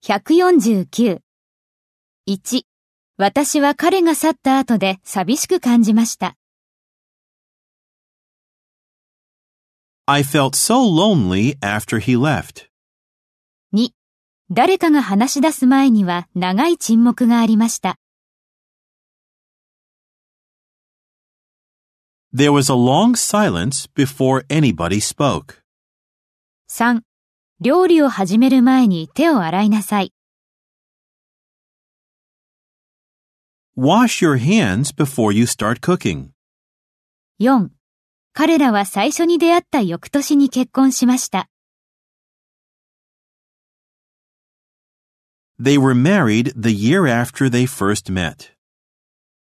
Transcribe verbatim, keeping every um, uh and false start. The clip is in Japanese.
ひゃくよんじゅうきゅう。いち、私は彼が去った後で寂しく感じました。 I felt so lonely after he left. に、誰かが話し出す前には長い沈黙がありました。 There was a long silence before anybody spoke. さん、料理を始める前に手を洗いなさい。 Wash your hands before you start cooking. よん、彼らは最初に出会った翌年に結婚しました。 They were married the year after they first met.